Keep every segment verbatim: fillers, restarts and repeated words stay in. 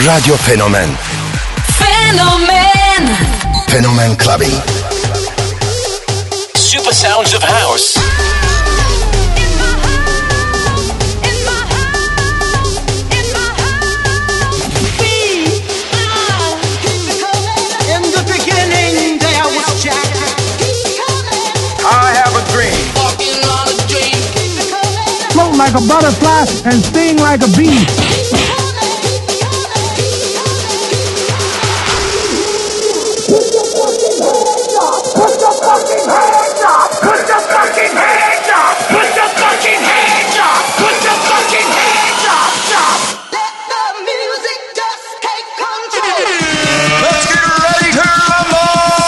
Radyo Fenomen. Fenomen. Fenomen Clubbing. Super sounds of house. Float like a butterfly and sting like a bee. Put your fucking hands up! Put your fucking hands up! Put your fucking hands up! Put your fucking hands up! Put your fucking hands up! Stop! Let the music just take control. Let's get ready to rumble!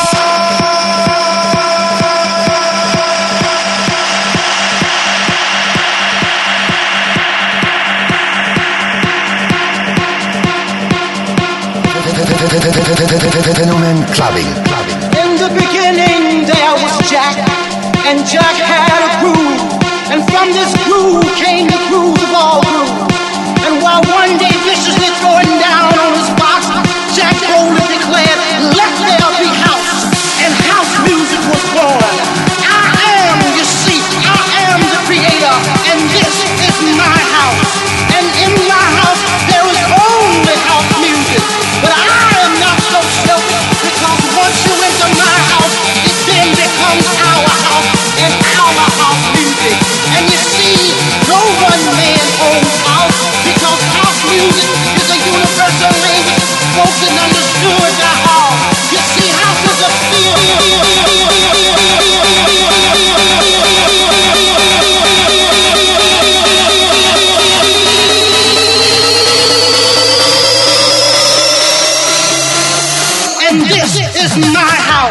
Fenomen Clubbing. In the beginning there was Jack, and Jack had a groove, and from this groove came the grooves of all grooves. And while one day viciously throwing down on his box, Jack boldly declared, "Let there be house," and house music was born. I am, you see, I am the creator, and this is my house. And in my house there is only house music, but I am not so selfish, because once you enter my house, it then becomes our house and our house music. And you see, no one man owns house, because house music is a universal language spoken, understood by all. You see, house is a feel. And this is my house.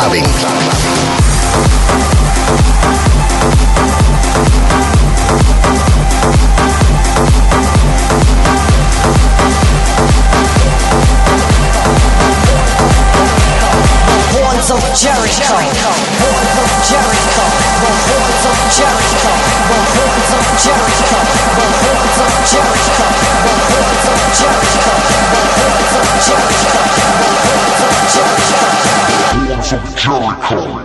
clubbing. Horns of Jericho, horns of Jericho, the horns of Jericho, the horns of Jericho, the horns of Jericho, the horns of Jericho, the horns of Jericho, the horns of Jericho, horns of Jericho.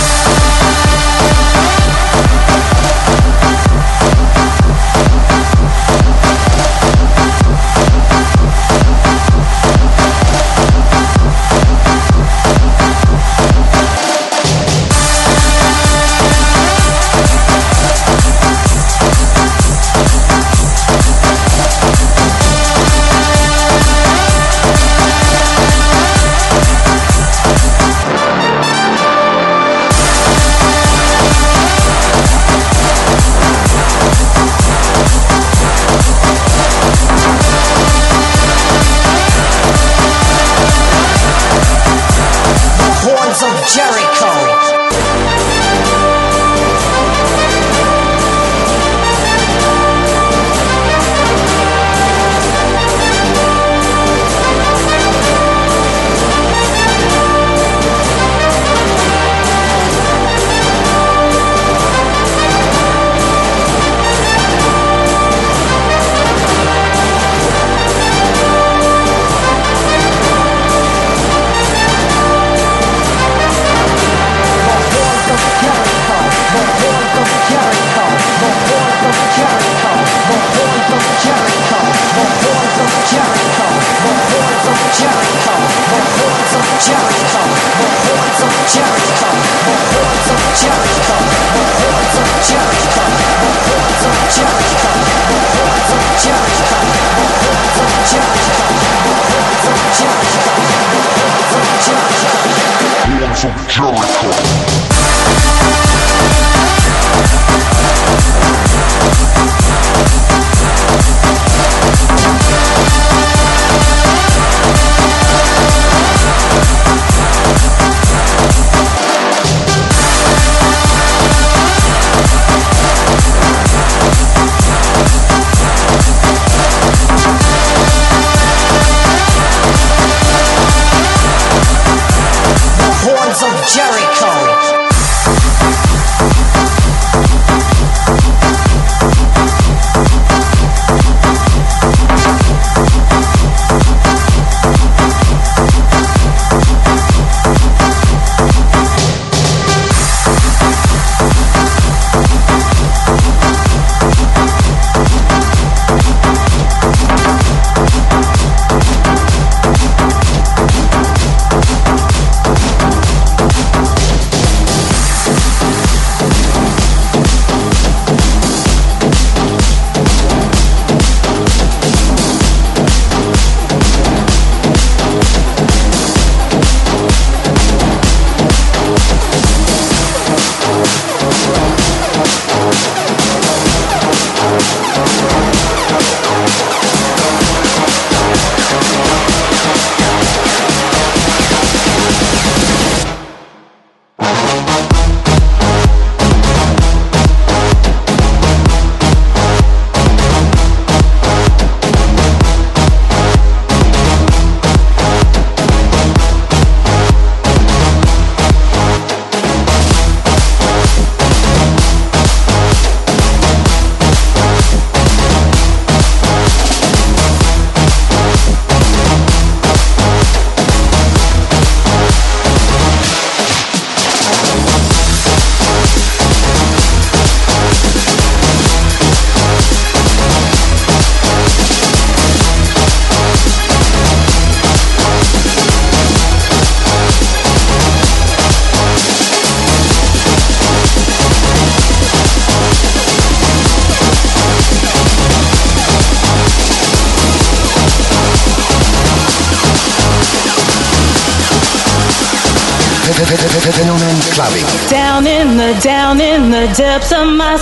Fenomen Clubbing. Down in the, down in the depths of my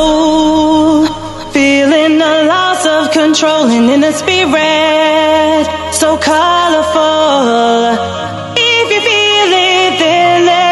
soul, feeling the loss of control and in the spirit so colorful. If you feel it, then let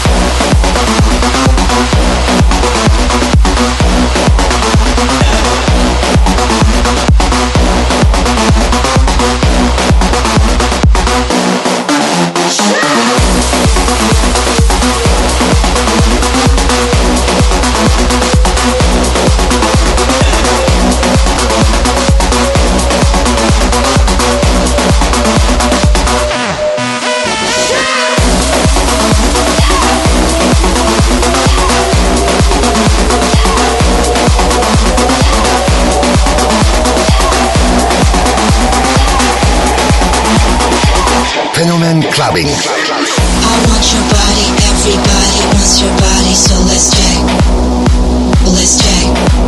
clubbing. I want your body, everybody wants your body, so let's check. Let's check.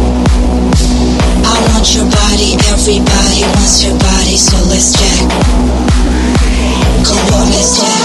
I want your body, everybody wants your body, so let's check. Come on, let's check.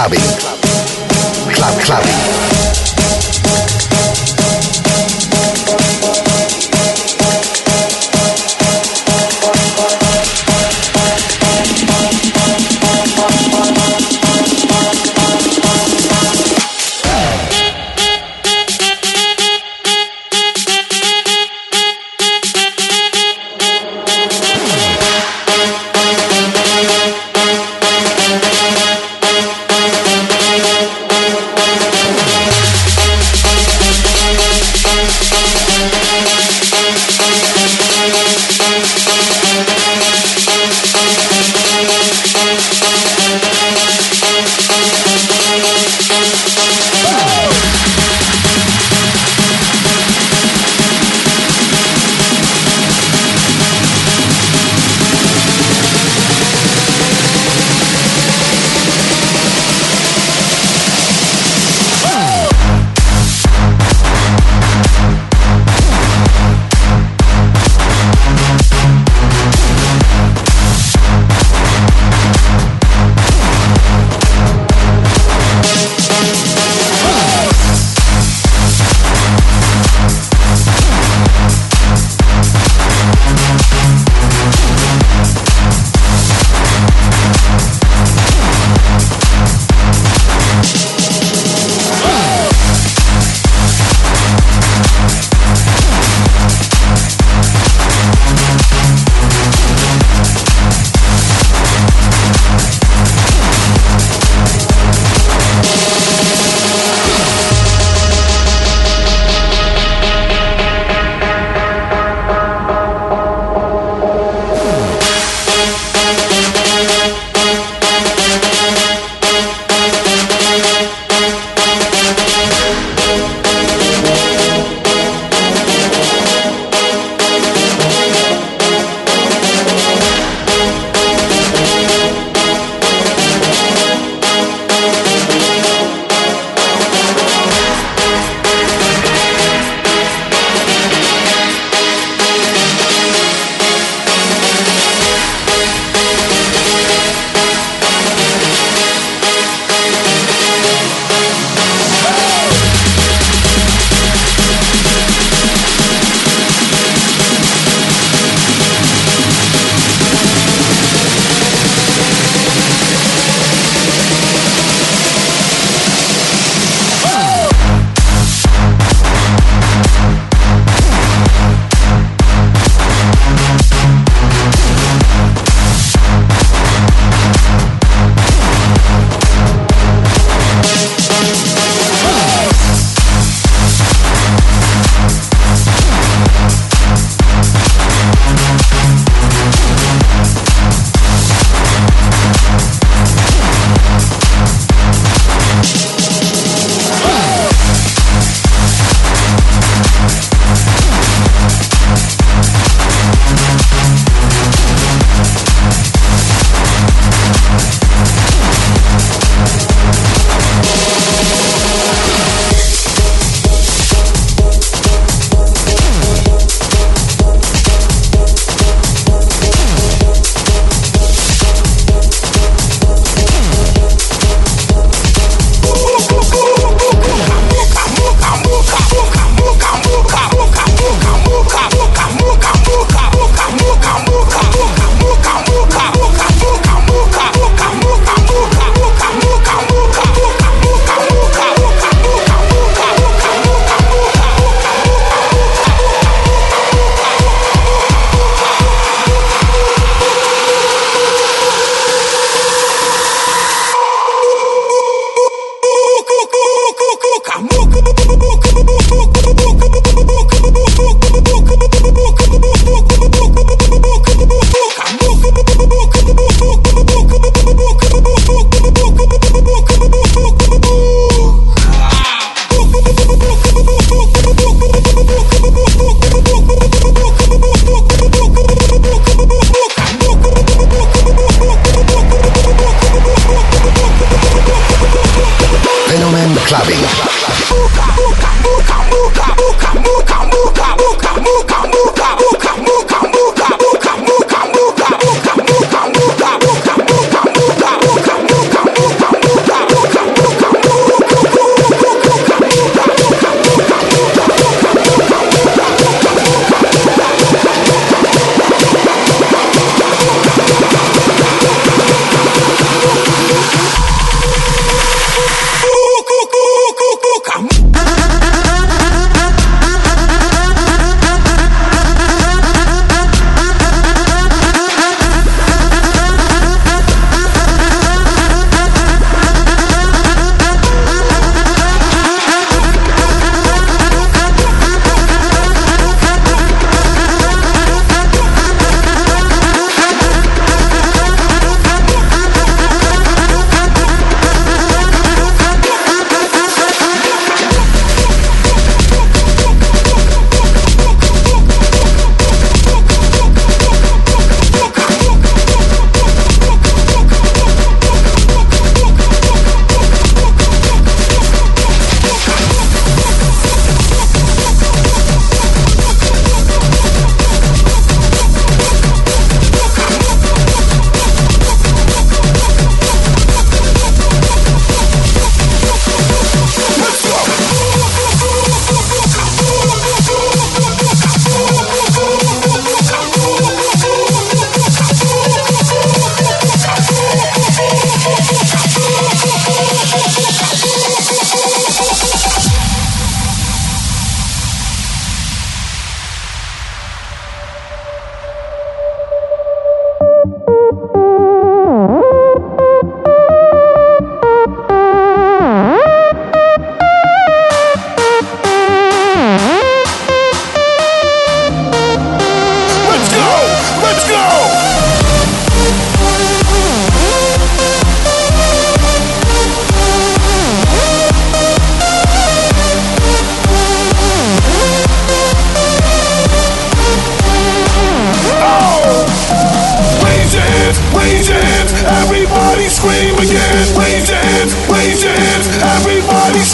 clubbing. Club clubbing.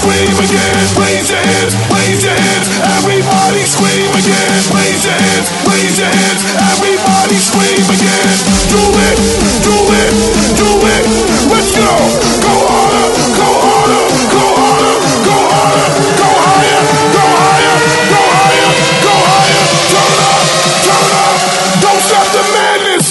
scream again. Raise your hands, raise your hands. Everybody scream again. Raise your hands, raise your hands. Everybody scream again. Do it, do it, do it. Let's go. Go harder, go harder, go harder, go harder, go higher, go higher, go higher, go higher. Turn up, turn up. Don't stop the madness.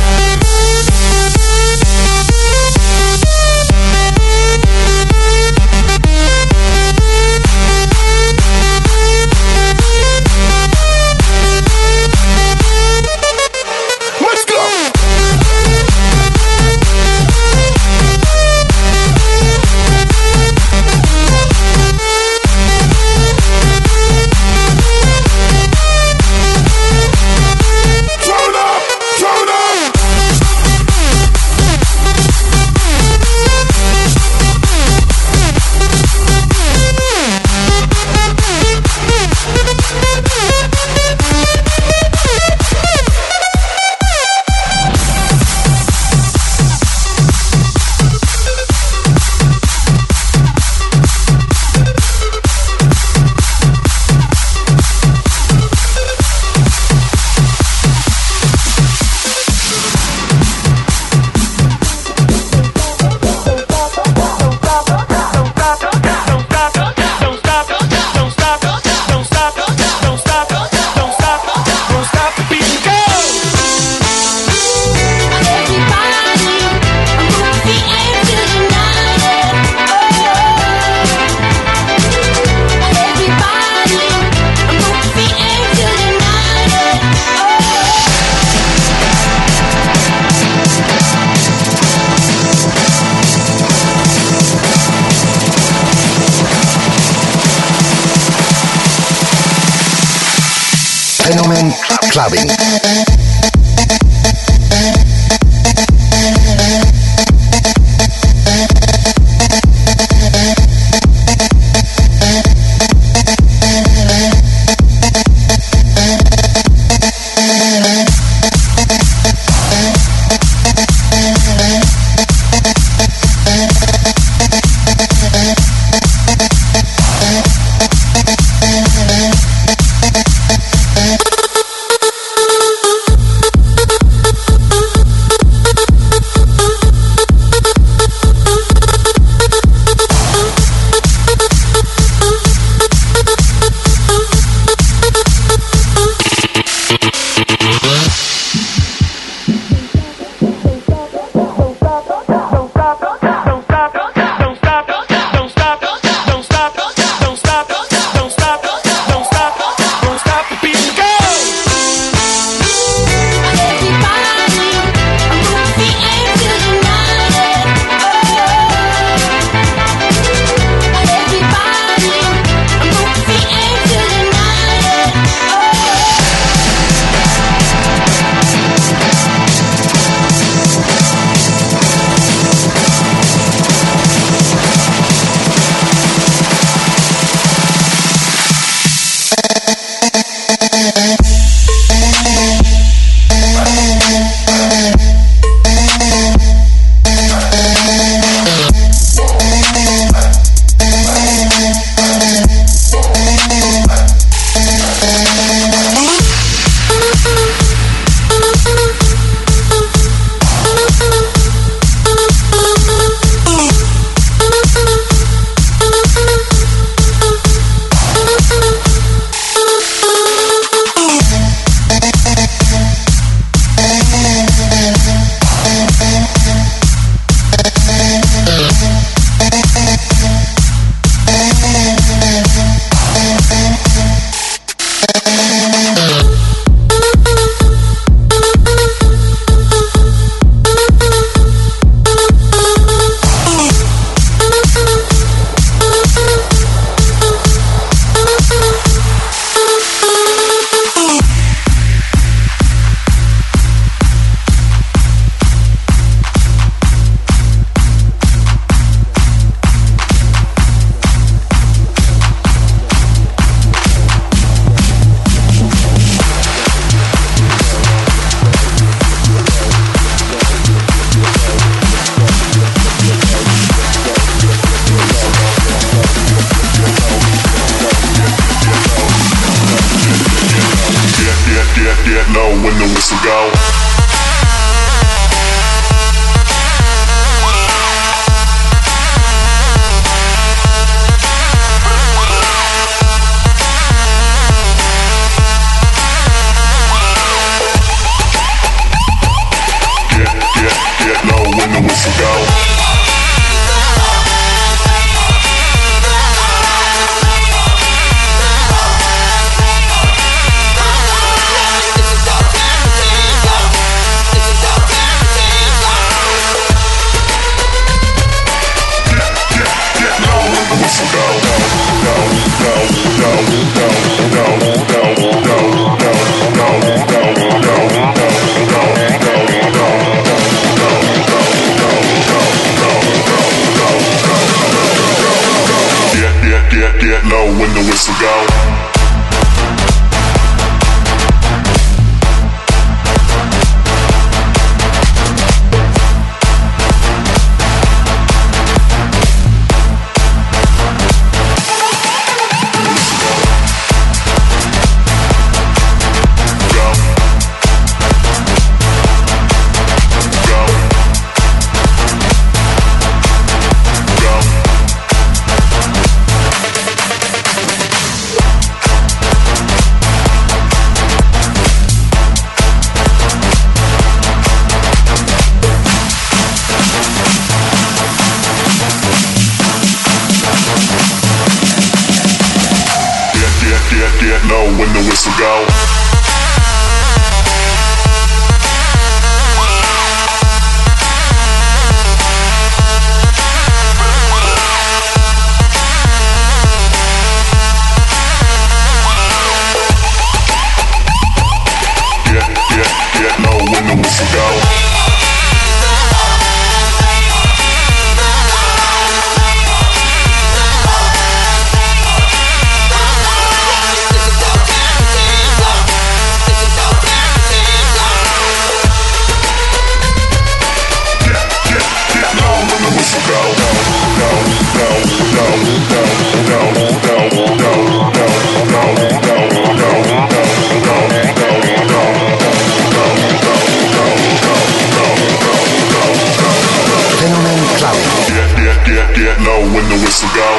Fenomen Clubbing. whistle go. Get, get, get low when the whistle go. Get low when the whistle go. Get low when the whistle go. Get, get, get low when the whistle go. Get low when the whistle go.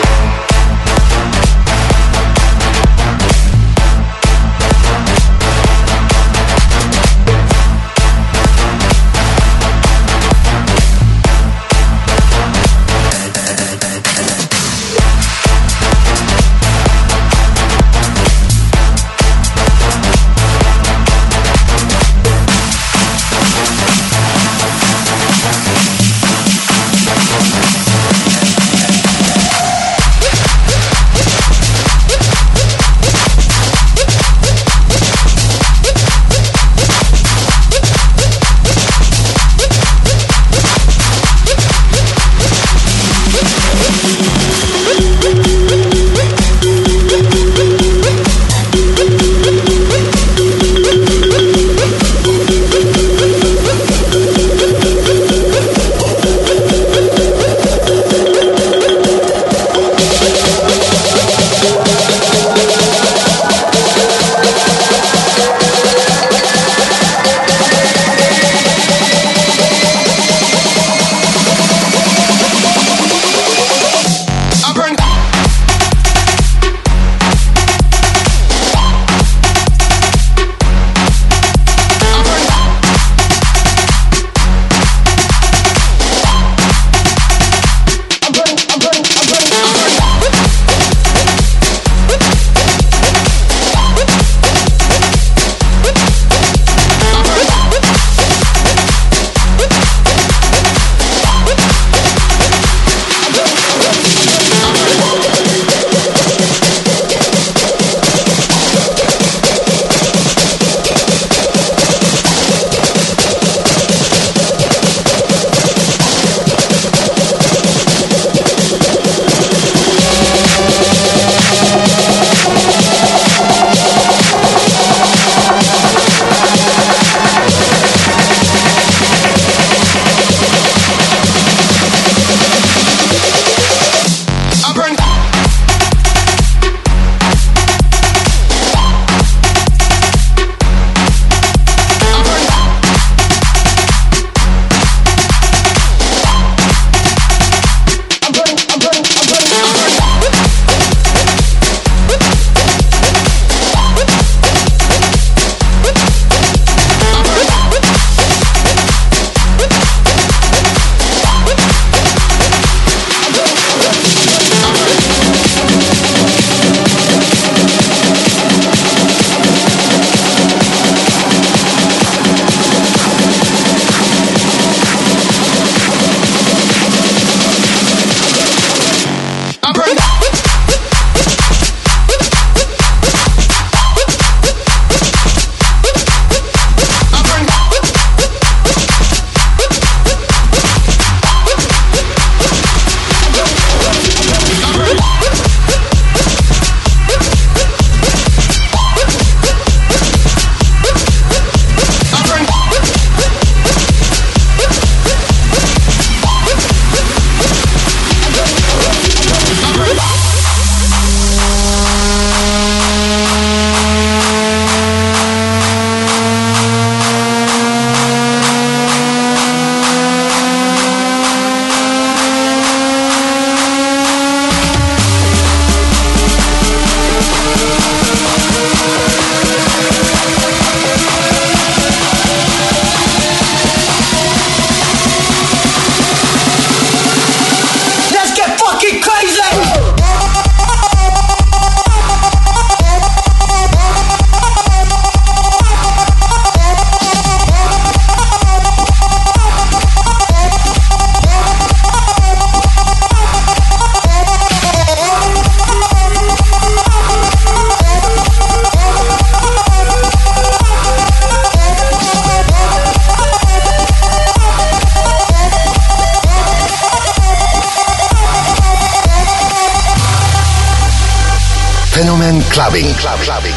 Fenomen Clubbing. Club, clubbing.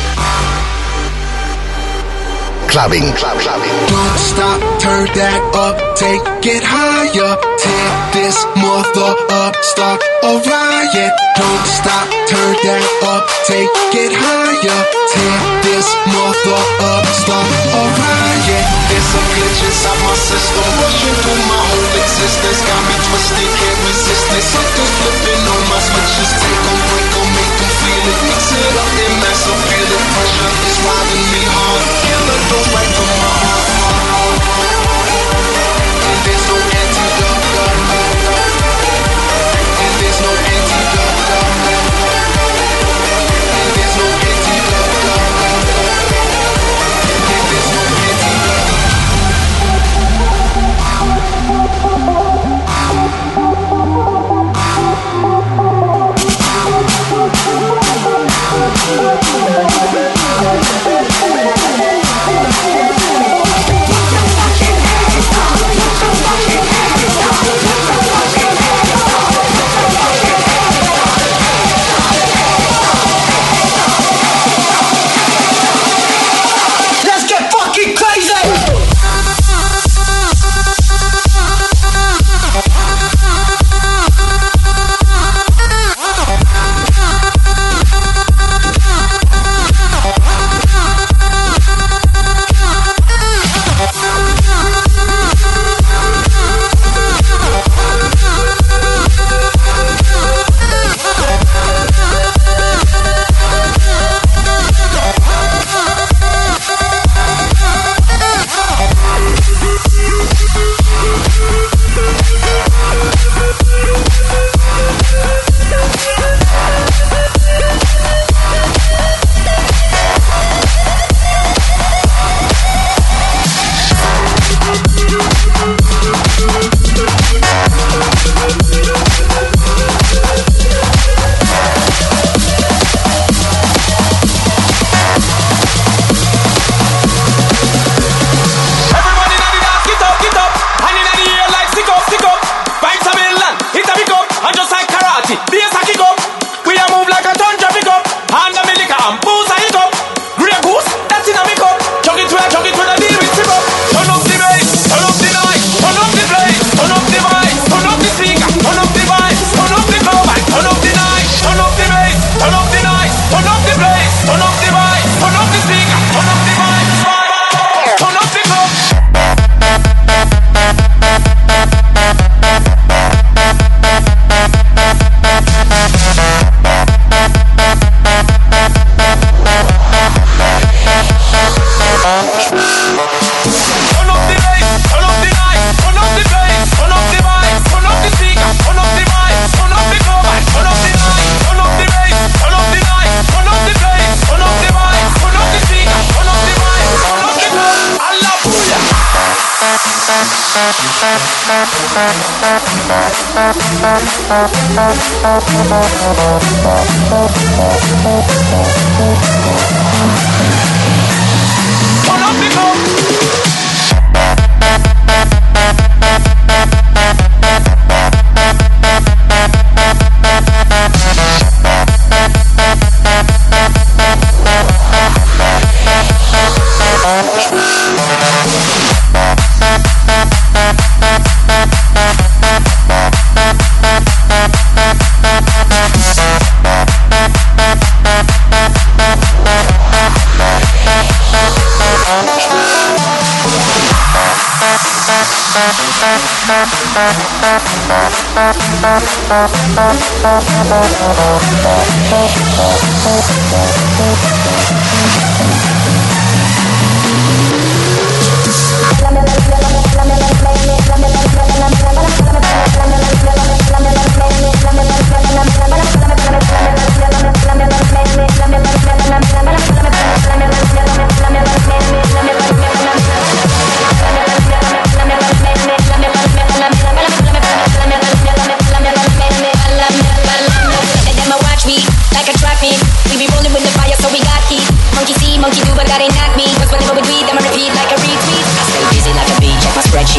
Clubbing, club, clubbing. Don't stop, turn that up, take it higher. Tear this mother up, start a riot. Don't stop, turn that up, take it higher. Tear this mother up, start a riot. There's a glitch inside my system, rushing through my whole existence. Got me twisted, can't resist it. Something's flipping on my switches. Take them, break them, make them feel it. Mix it up in massive, feel it. Pressure is riding me hard. Killer goes right to my heart. And there's no antidote. And there's no antidote. And there's no antidote. And there's no antidote.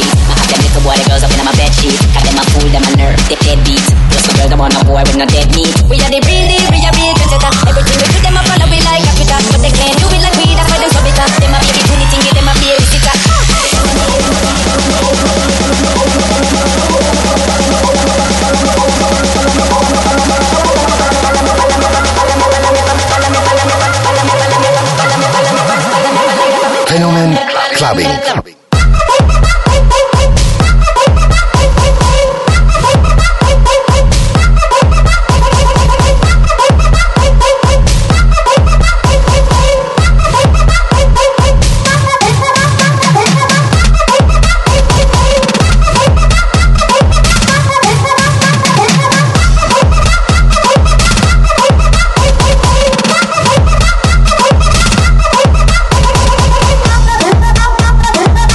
Boy with no dead meat. clubbing, clubbing. We'll be right back.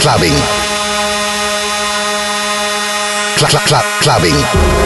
clubbing. Cl- cl- cl- clubbing.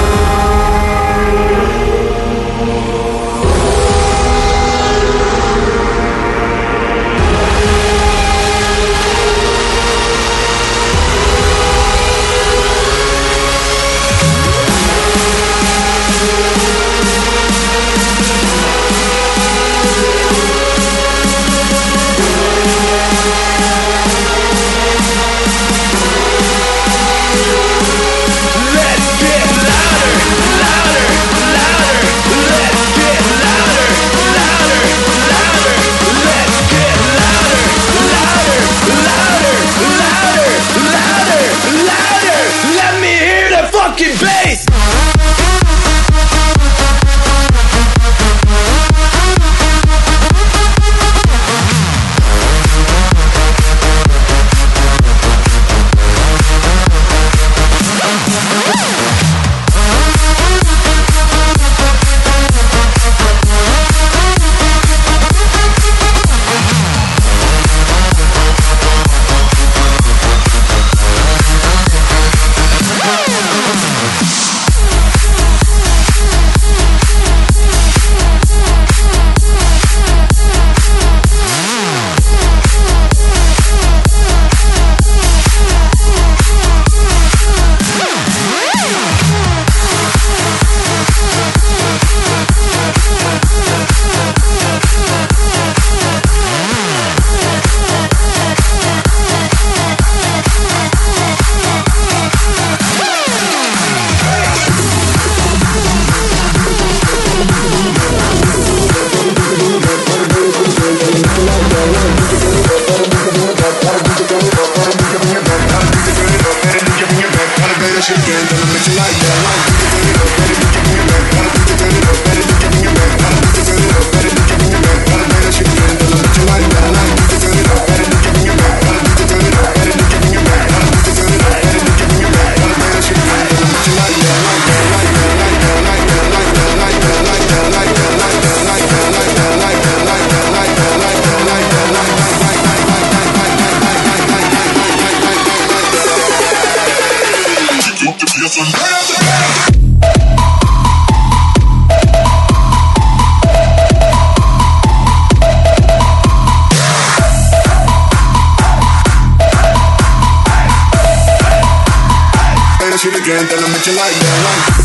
Again, then I make you like that.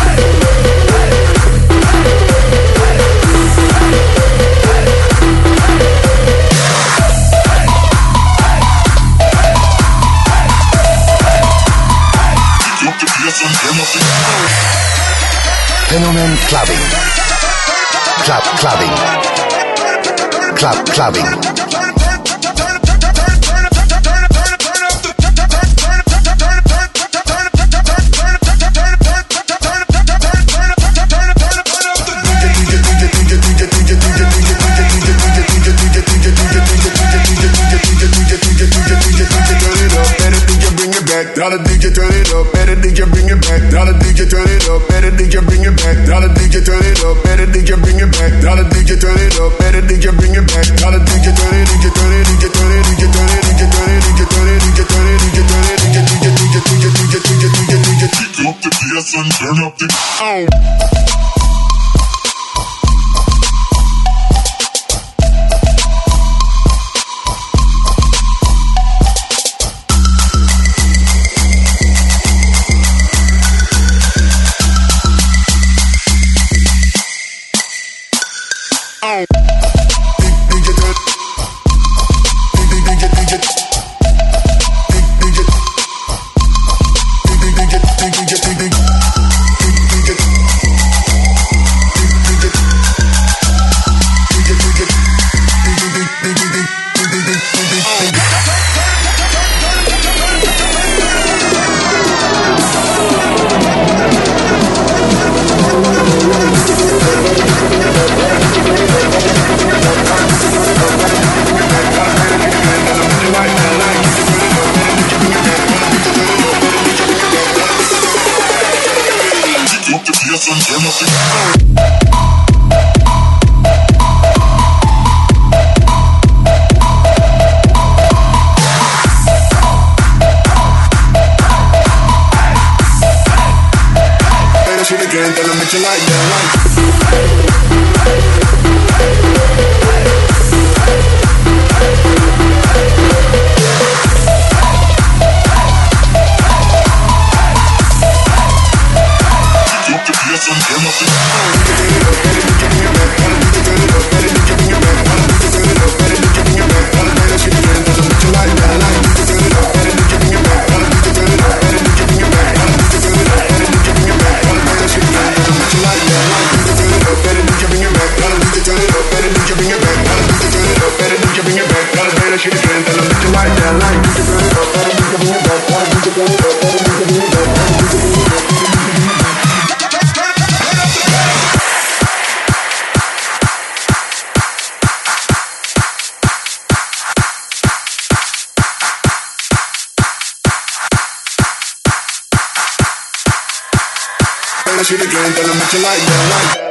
Phenomen clubbing. Club clubbing. Club clubbing. Tell the D J turn it up, better D J bring it back. Tell the D J turn it up, better D J bring it back. Tell the D J turn it up, better D J bring it back. Tell the D J turn it up, better D J bring it back. Tell the D J turn it, D J turn it, D J turn it, D J turn it, D J turn it, D J turn it, D J turn it, D J turn it, D J D J D J D J D J D J D J D J. Pick up the bass and turn up the sound. shit again, then I make you like, yeah, like.